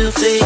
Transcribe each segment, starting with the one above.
to be.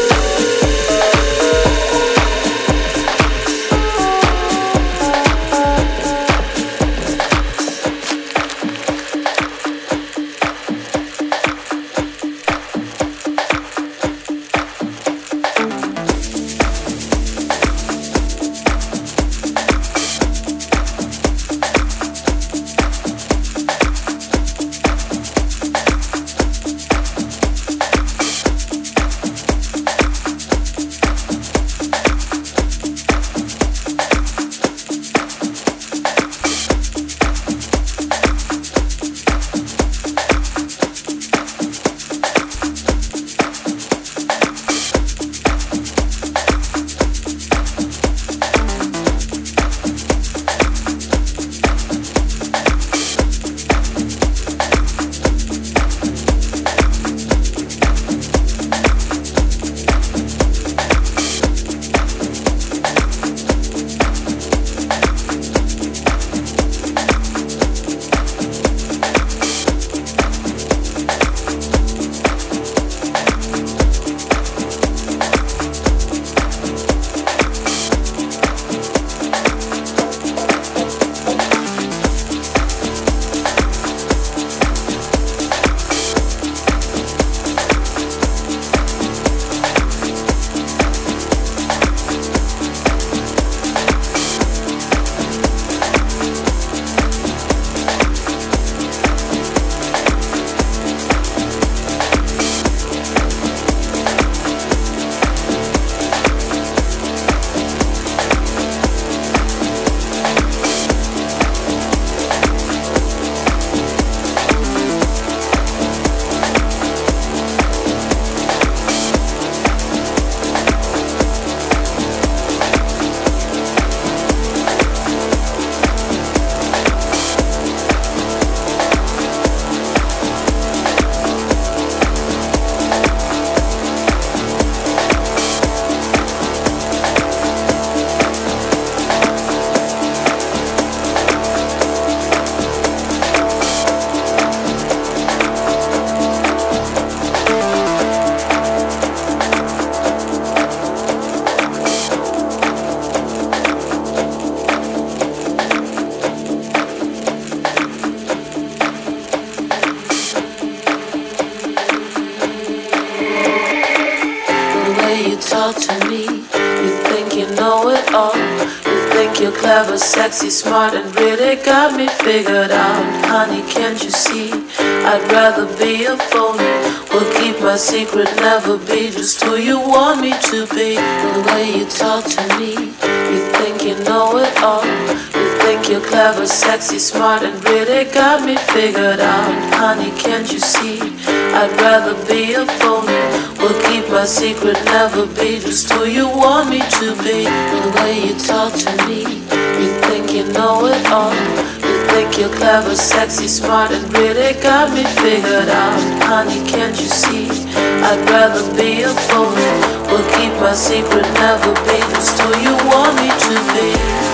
Sexy, smart, and really got me figured out. Honey, can't you see? I'd rather be a phony. Will keep my secret, never be just who you want me to be. The way you talk to me, you think you know it all. You think you're clever, sexy, smart, and really got me figured out. Honey, can't you see? I'd rather be a phony. Will keep my secret, never be just who you want me to be. The way you talk to me, you think you know it all. You think you're clever, sexy, smart, and really got me figured out. Honey, can't you see? I'd rather be a phony. Will keep my secret, never be just who you want me to be.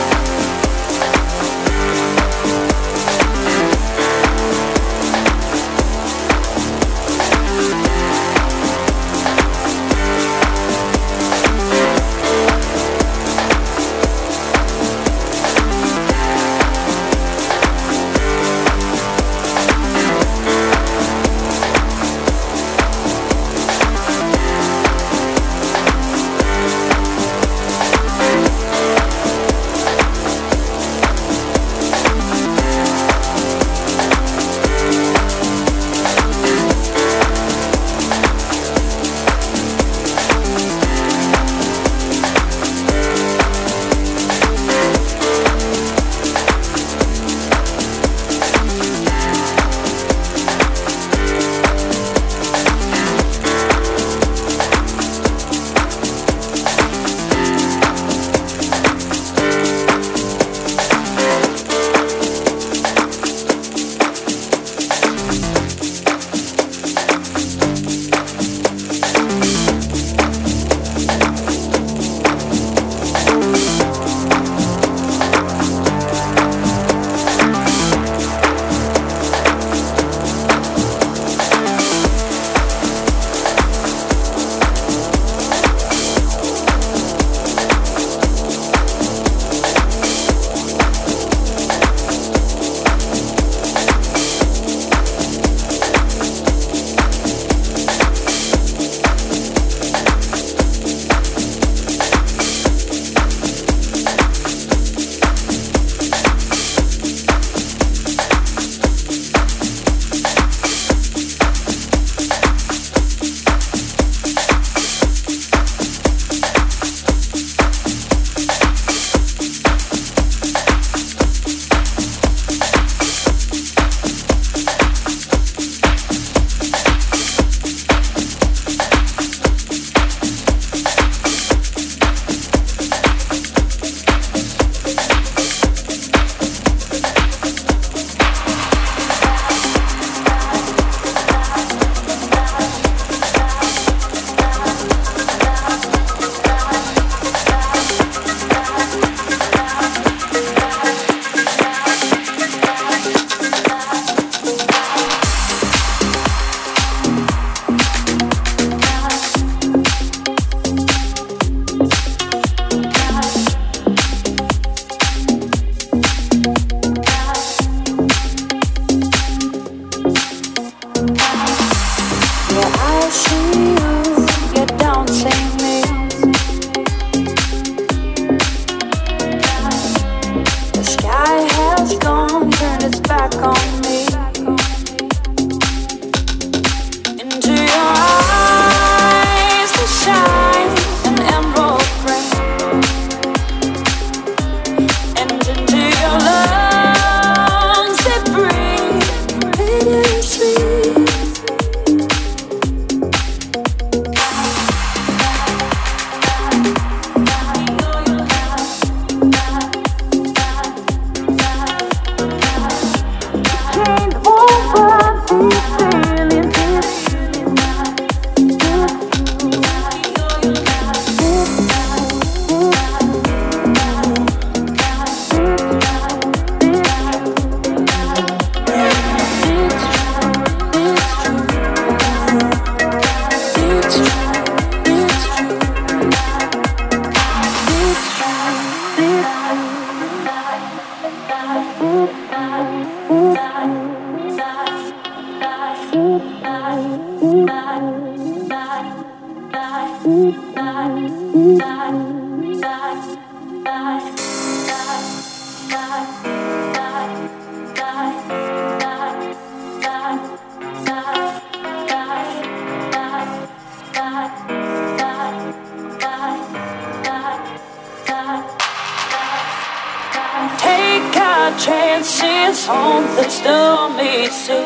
Chances home that still me see.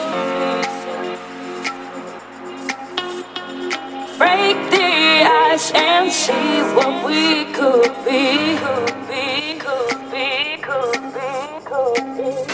Break the ice and see what we could be. Could be, could be, could be, could be.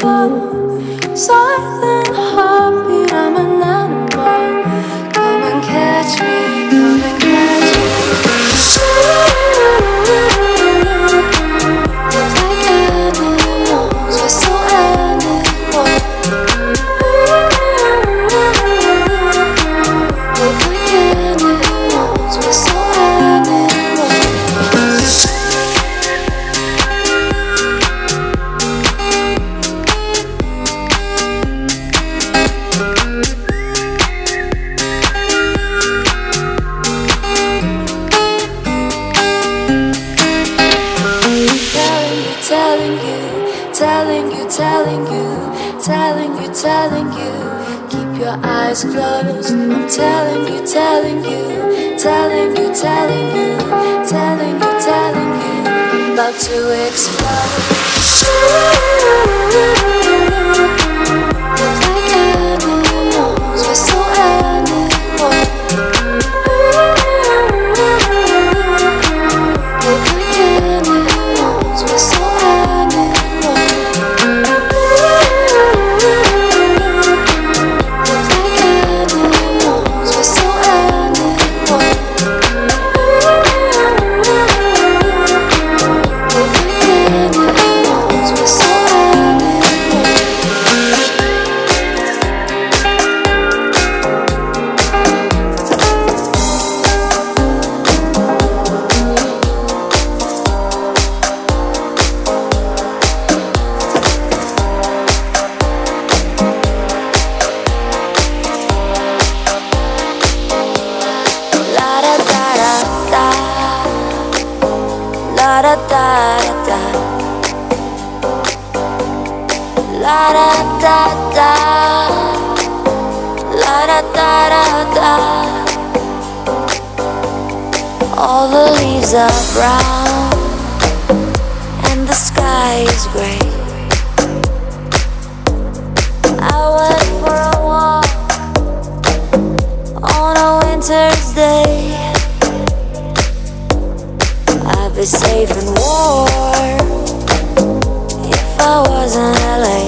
Silent heartbeat, I'm an animal. Come and catch me, come and catch me. Like animals, we're so animal. Like animals, we're so animal. Telling you, keep your eyes closed. I'm telling you, about to explode. Like animals, we're so animal. Like animals, we're so animal. All the leaves are brown and the sky is gray. I went for a walk on a winter's day. I'd be safe and warm if I was in LA.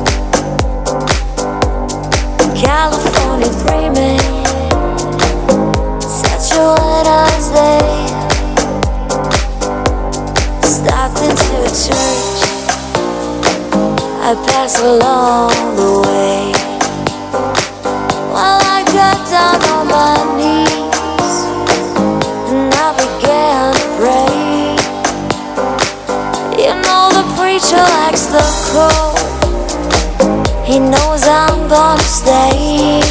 California dreaming, such a winter's day. Stopped into a church, I passed along the way. Well, I got down on my knees and I began to pray. You know the preacher likes the cold. He knows I'm gonna stay.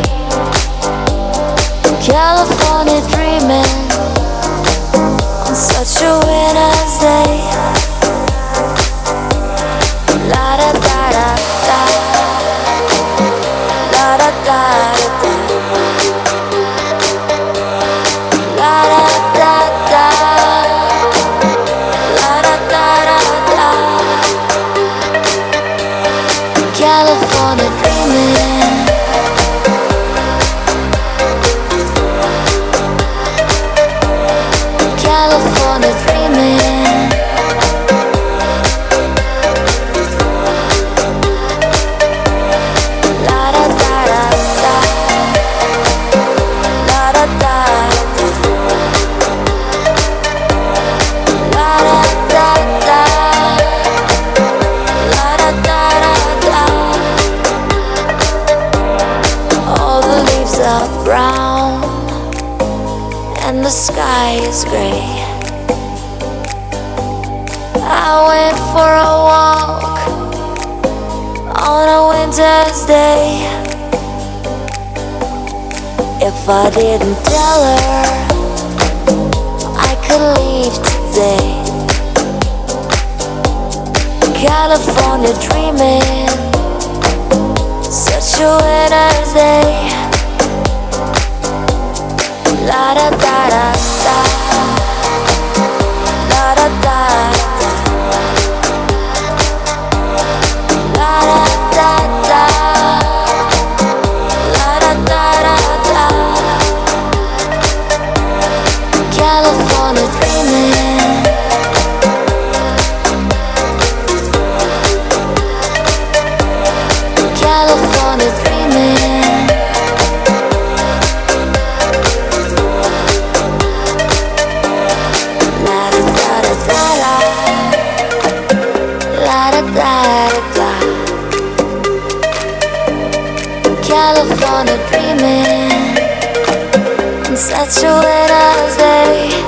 California dreaming on such a winter's day. La da da da da, la da da da, la da da da, la da da da. California dreaming. California dreaming. La da da da da, la da da da, la da da da, la da da da. All the leaves are brown and the sky is gray. I went for a walk on a winter's day. If I didn't tell her I could leave today. California dreaming, such a winter's day. La da da da da, la da da da, la da da da, la da da da. California dreaming. such a wet ass day.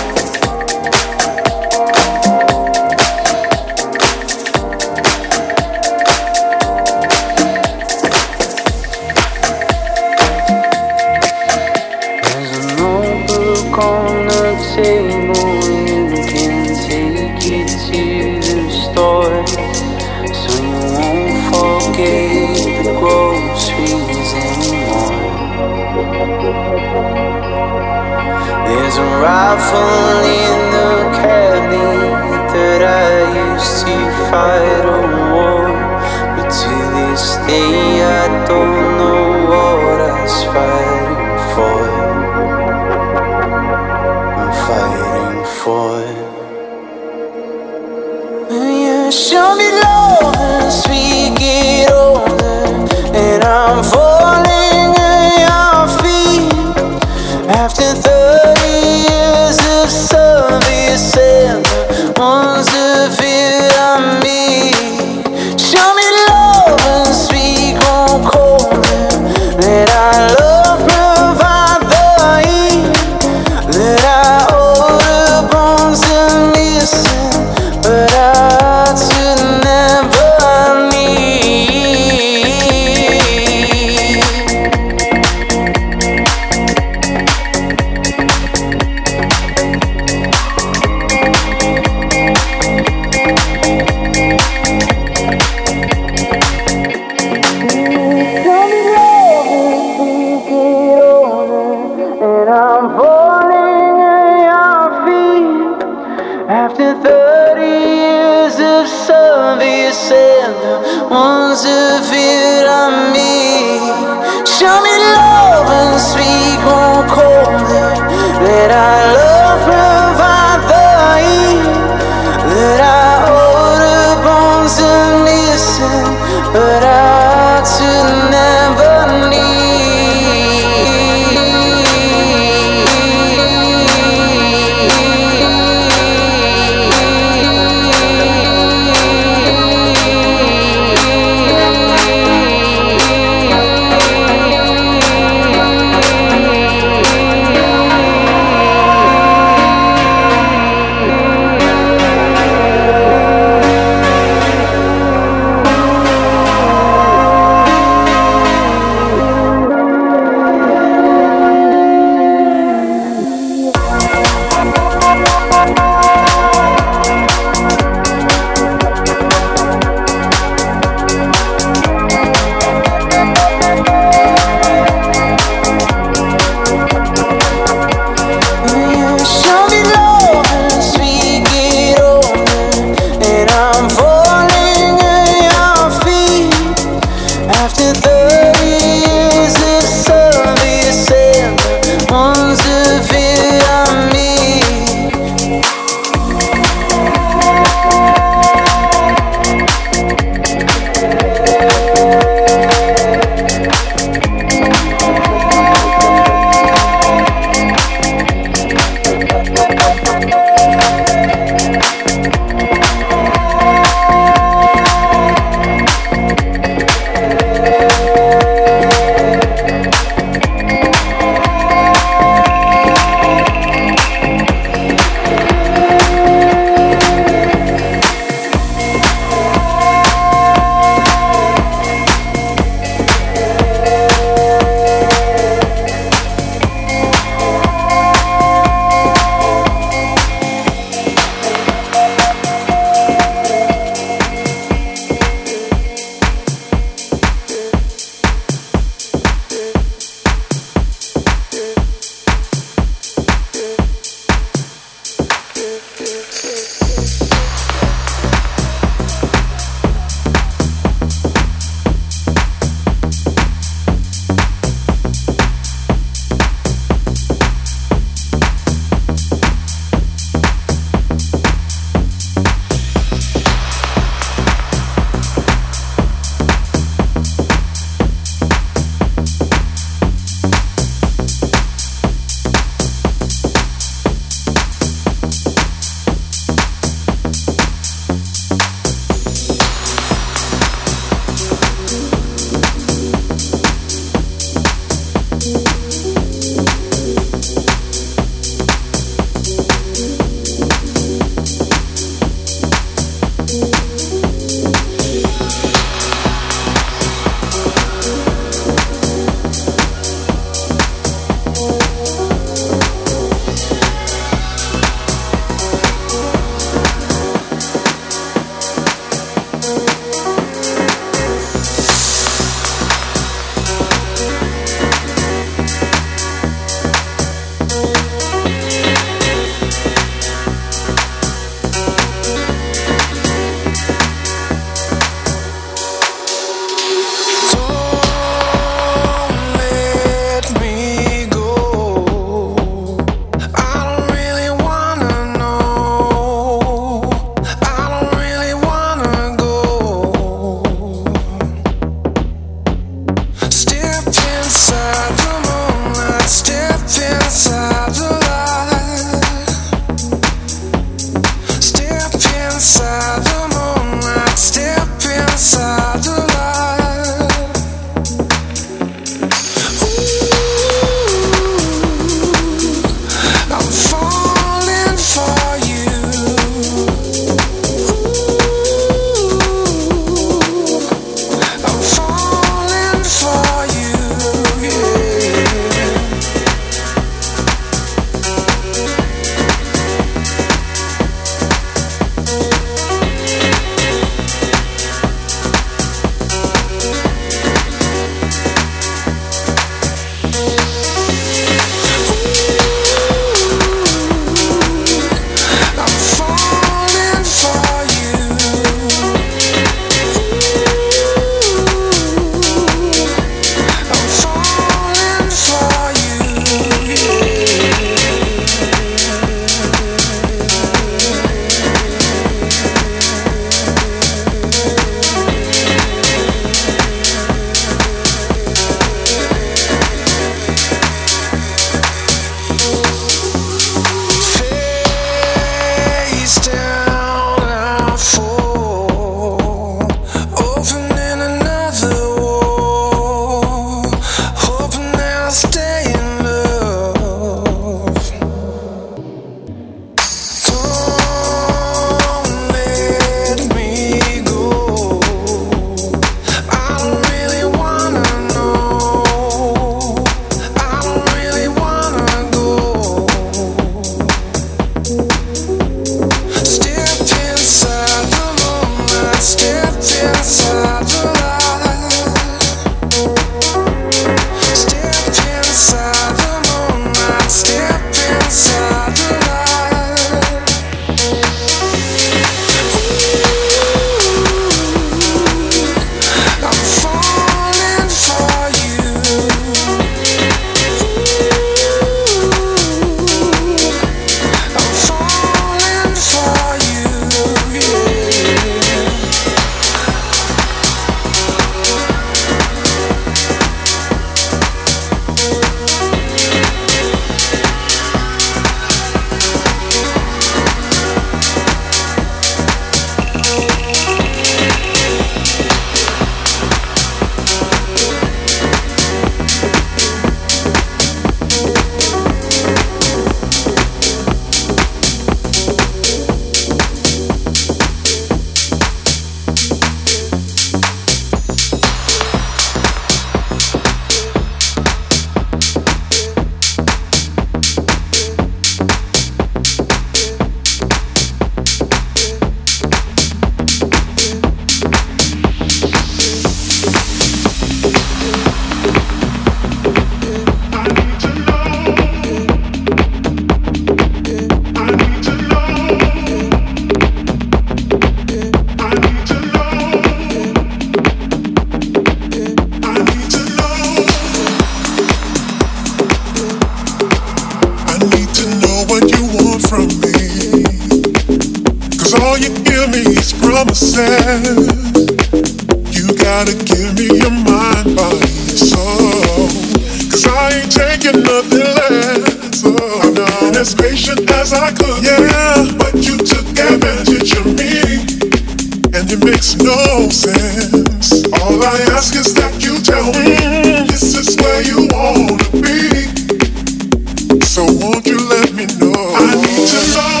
from me? 'Cause all you give me is promises. You gotta give me your mind, body, and soul. 'Cause I ain't taking nothing less. Oh, I've been as patient as I could, yeah. But you took advantage of me, and it makes no sense. All I ask is that you tell me this is where you wanna be. So won't you let me know? I need to know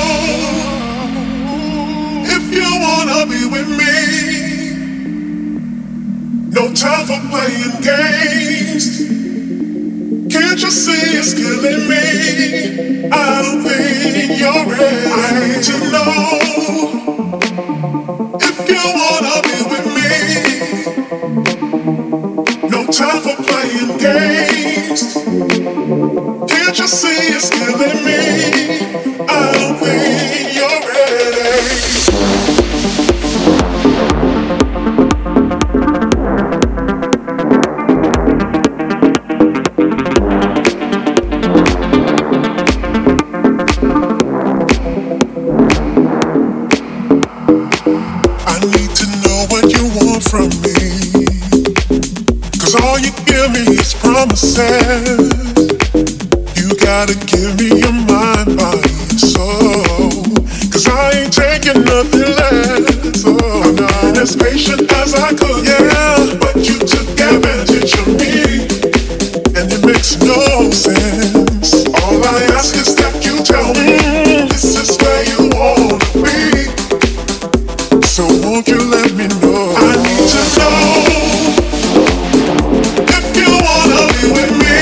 if you wanna be with me. No time for playing games. Can't you see it's killing me? I don't think you're ready. I need to know if you wanna be with me. No time for playing games. Can't you see it's killing me? I don't think you're ready. From me, 'cause all you give me is promises. You gotta give me your mind, body, and soul. 'Cause I ain't taking nothing less. Oh, I've been as patient as I could, yeah. But you took advantage of me, and it makes no sense. All I ask is that you tell me this is where you wanna be. So won't you let me know? I need to know if you wanna be with me.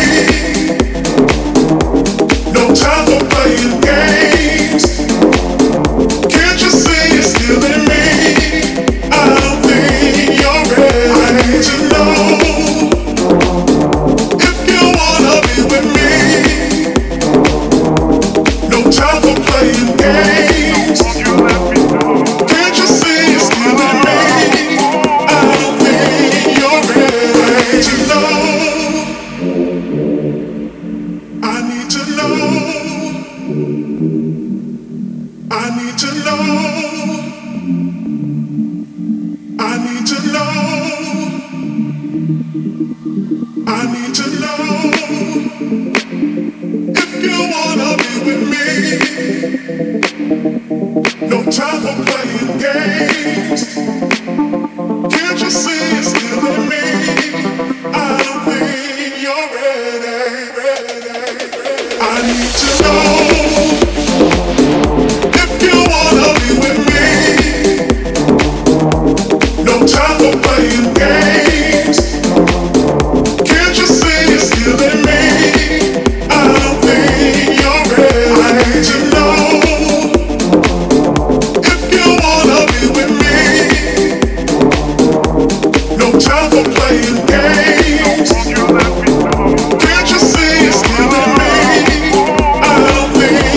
No time for playing games. Can't you see it's killing me? I don't think you're ready. I need to know if you wanna be with me. No time for playing games. Can't you see it's killing me? I don't think you're ready to know. I need to know. I need to know. I need to know. I need to know if you wanna be with me. No time for playing games. Can't you see it's killing me? I don't think you're ready. I need to know if you wanna be with me. No time for playing games. Can't you see it's killing me? I don't think you're ready. I need to know if you wanna be with me. No time for playing games. Can't you see it's killing me? I don't think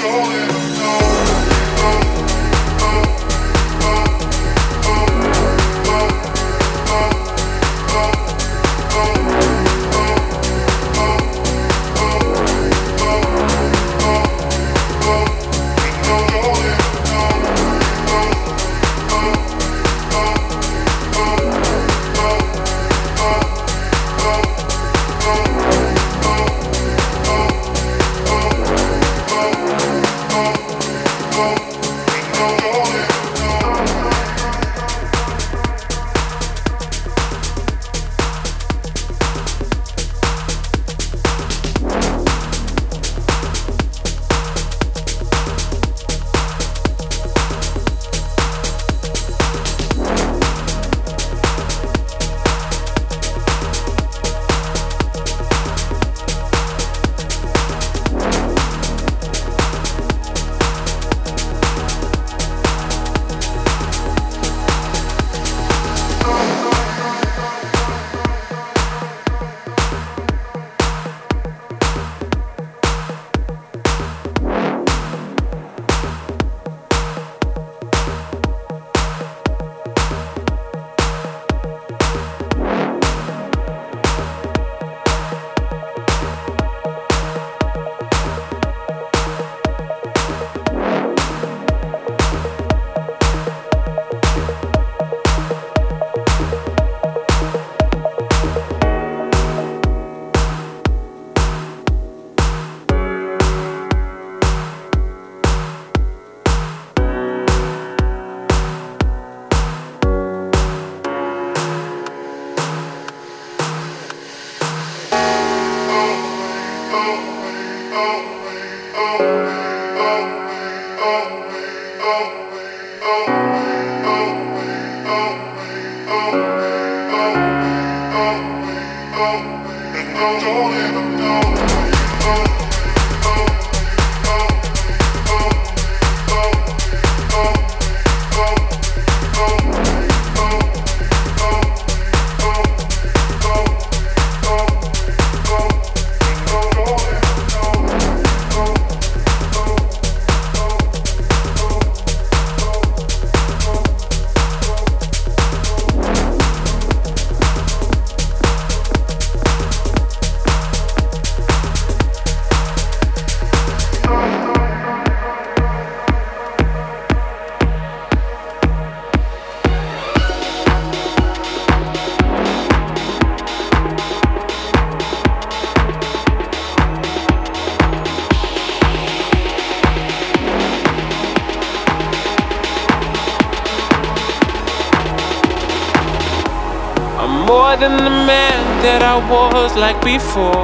more than the man that I was like before.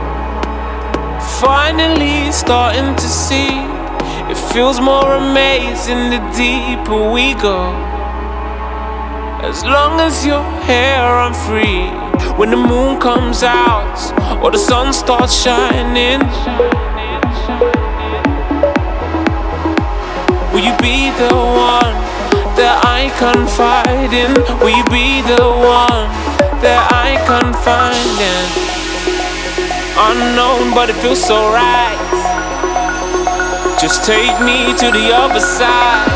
Finally starting to see, it feels more amazing the deeper we go. As long as you're here, I'm free. When the moon comes out or the sun starts shining, will you be the one that I confide in? Will you be the one that I confide in? Unknown, but it feels so right. Just take me to the other side.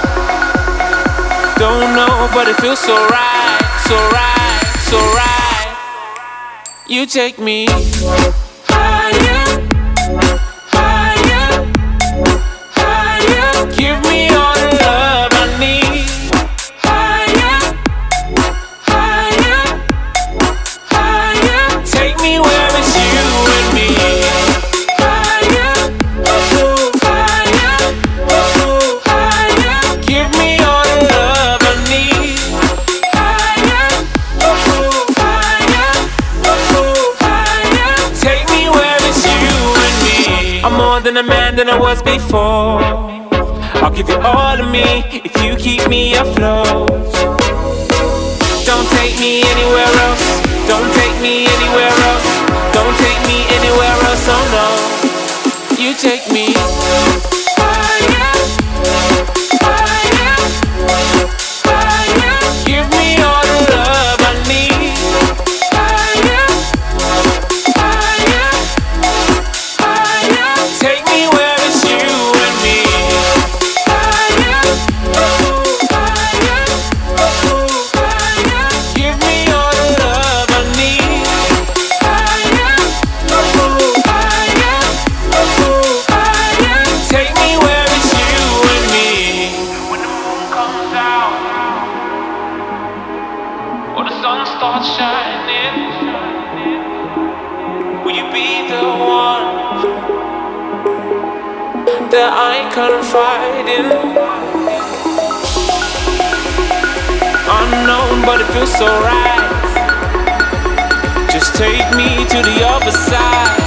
Don't know, but it feels so right, so right, so right. You take me higher, higher, higher. Give me all the love I need. Higher, higher, higher. Take me where it's you and me. Higher, higher, higher. Give me all the love I need. Higher, higher, higher. Take me where it's you and me. I'm more than a man than I was before. I'll give you all of me if you keep me afloat. Don't take me anywhere else. Don't take me anywhere else. Don't take me anywhere else, oh no. You take me higher, higher, higher. Give me all the love I need. Higher, higher, higher. Take me where it's you that I confide in. Unknown, but it feels so right. Just take me to the other side.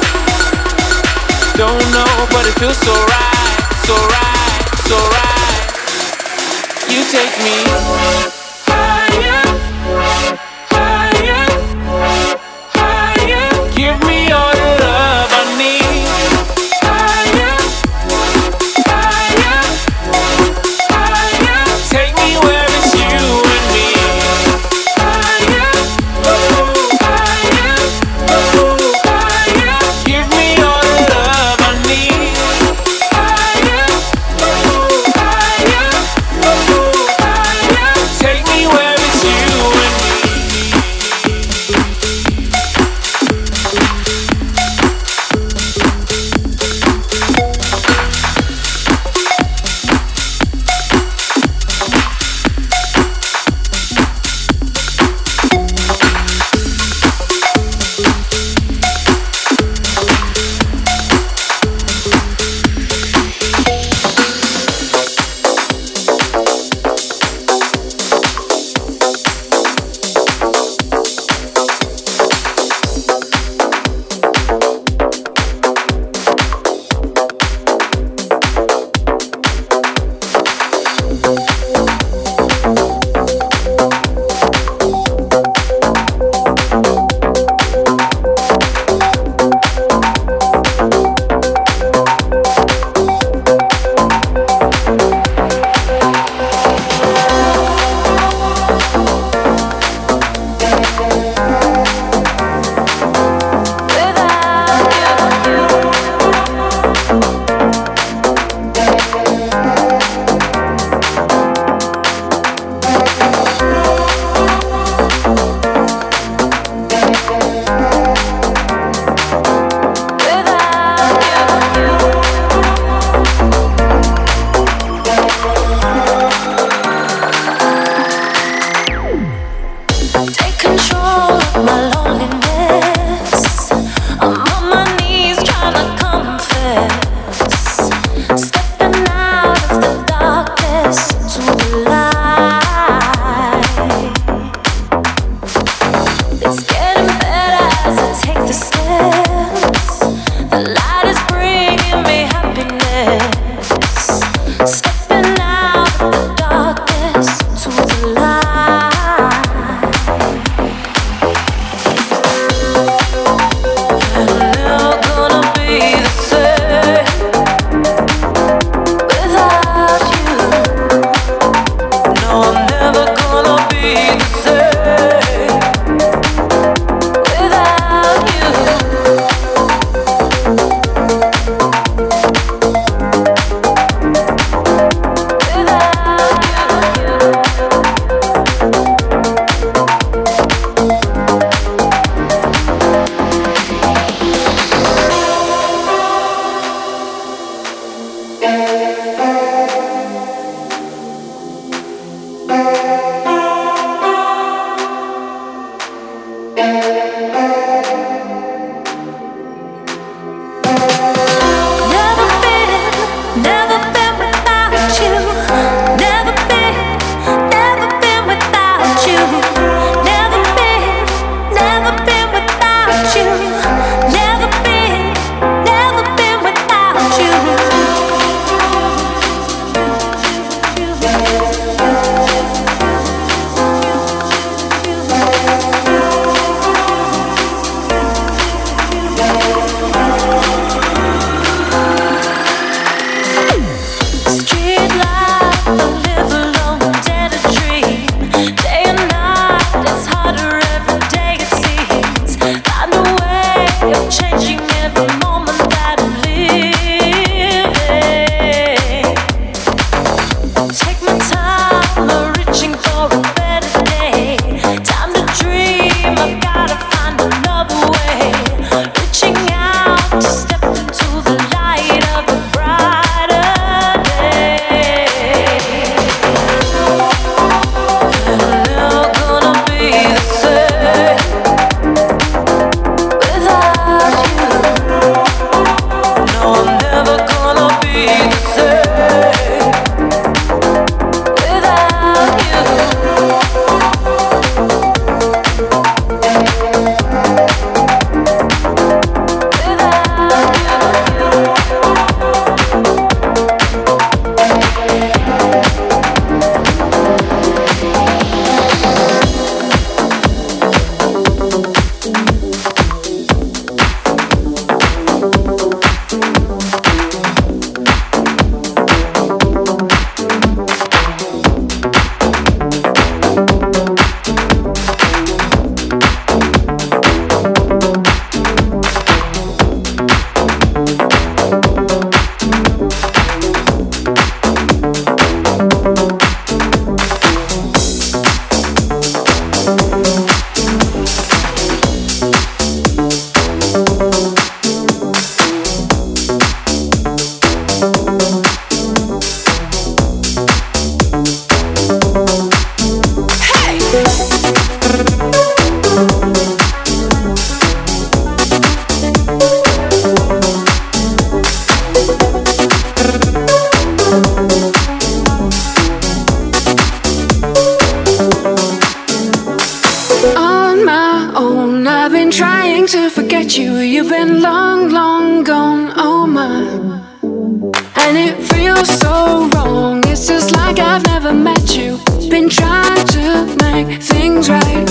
Don't know, but it feels so right, so right, so right. You take me higher, higher, higher. Give me all the love I need. Higher, higher, higher. Take me where it's you and me. Higher, higher, higher. Give me all the love I need. Higher, higher, higher. Take me where it's you and me. Changing every moment that I live. I've never met you. Been trying to make things right.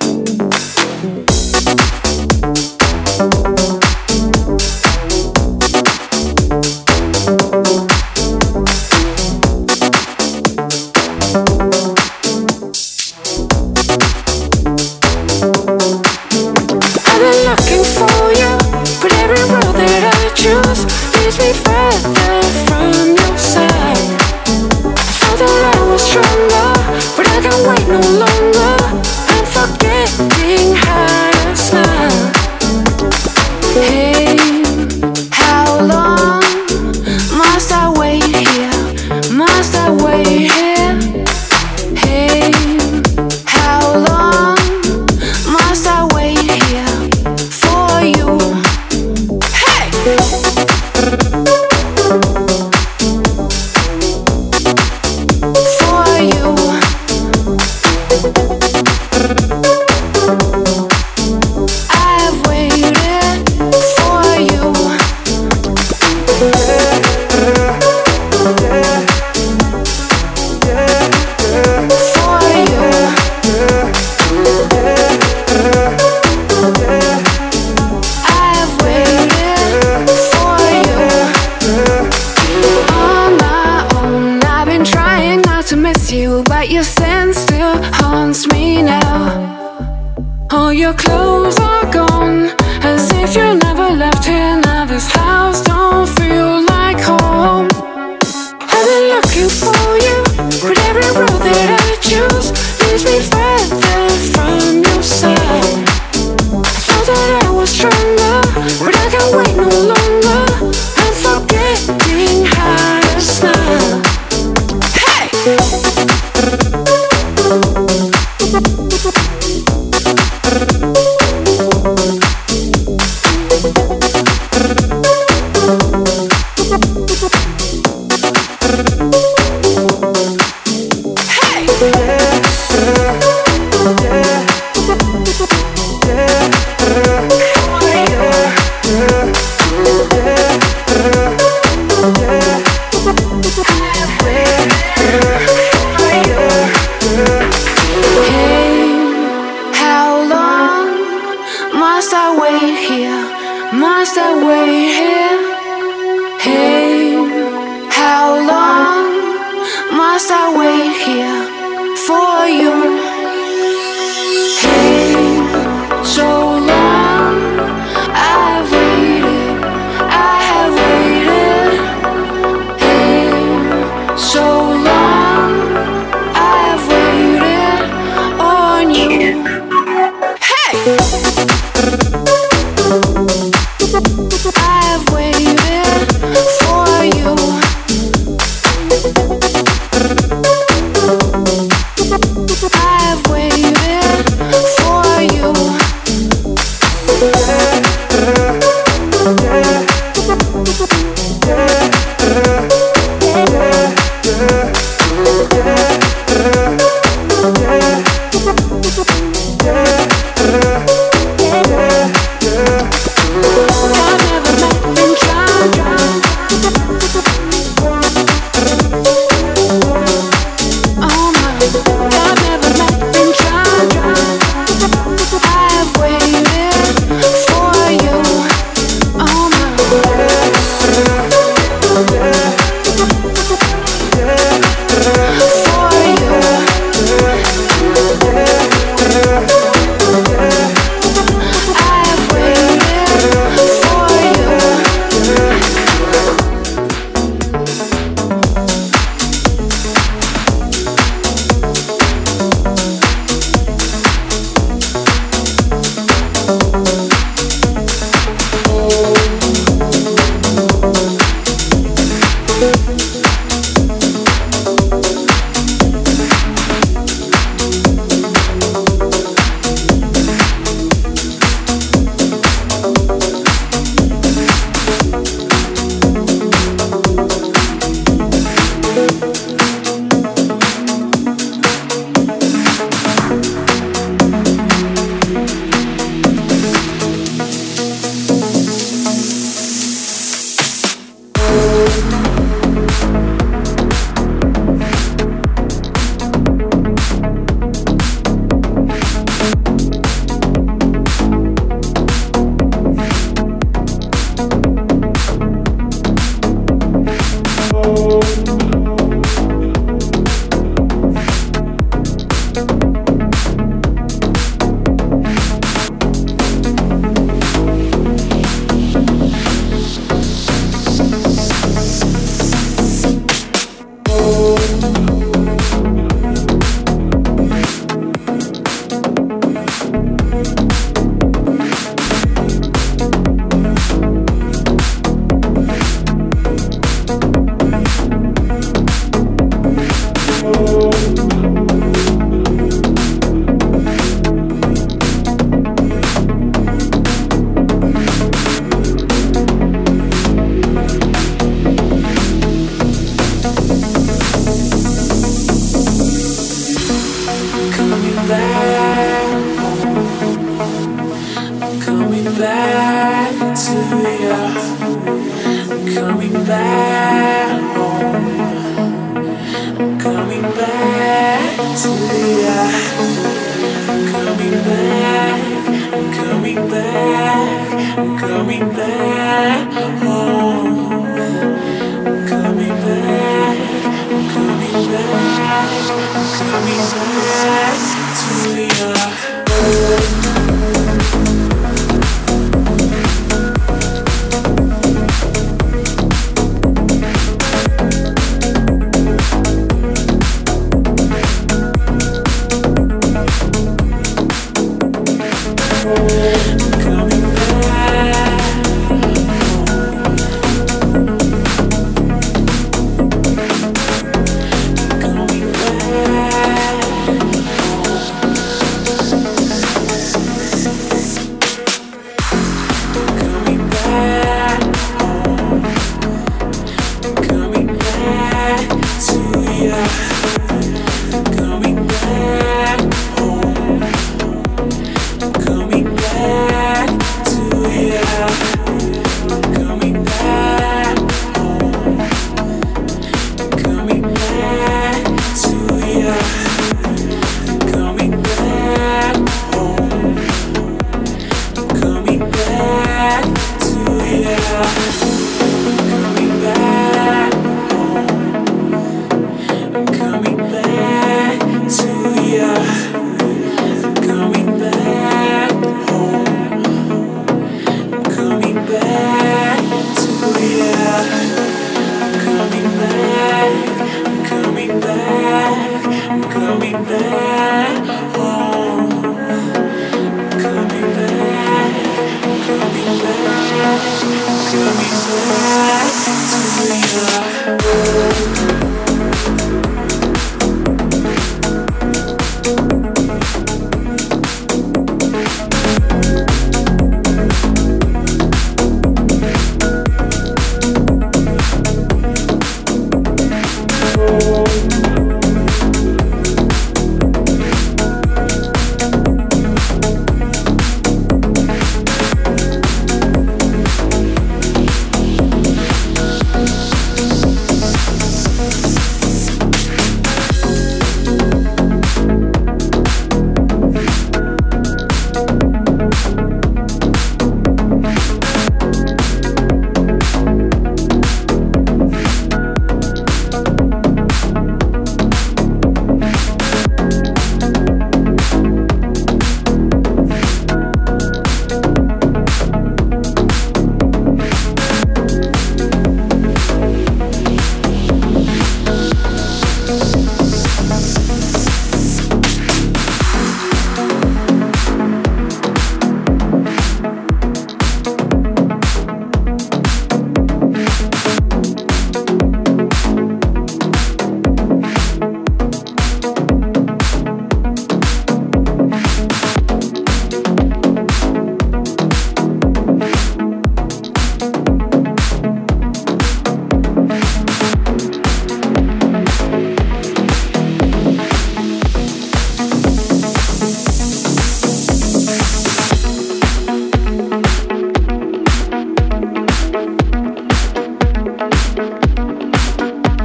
Must I wait here? Must I wait here? Hey.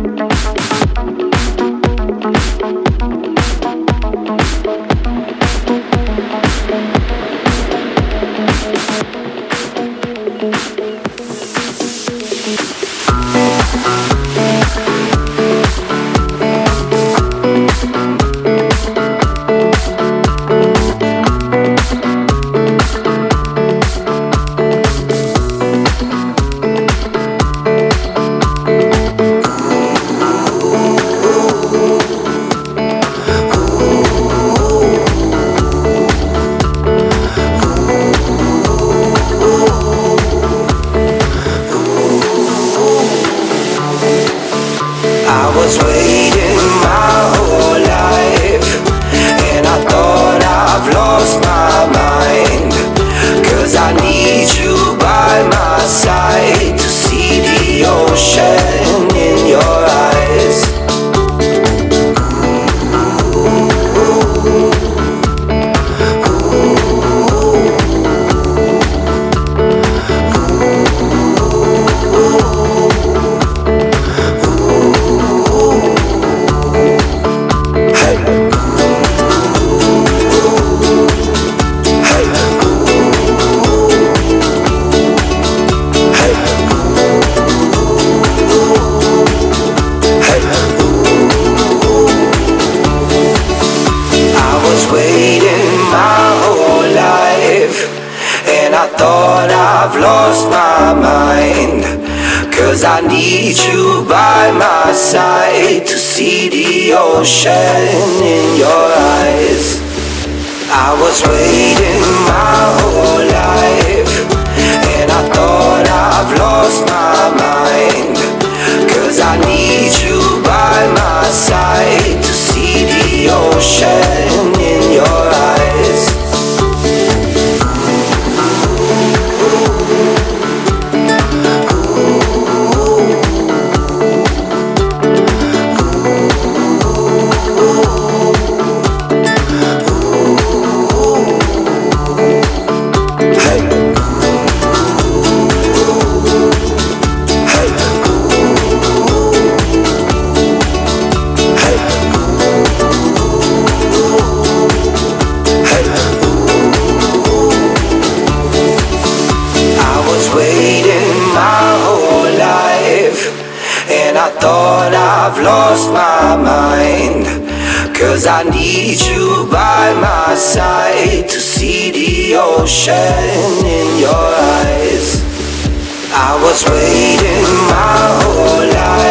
I was waiting my whole life.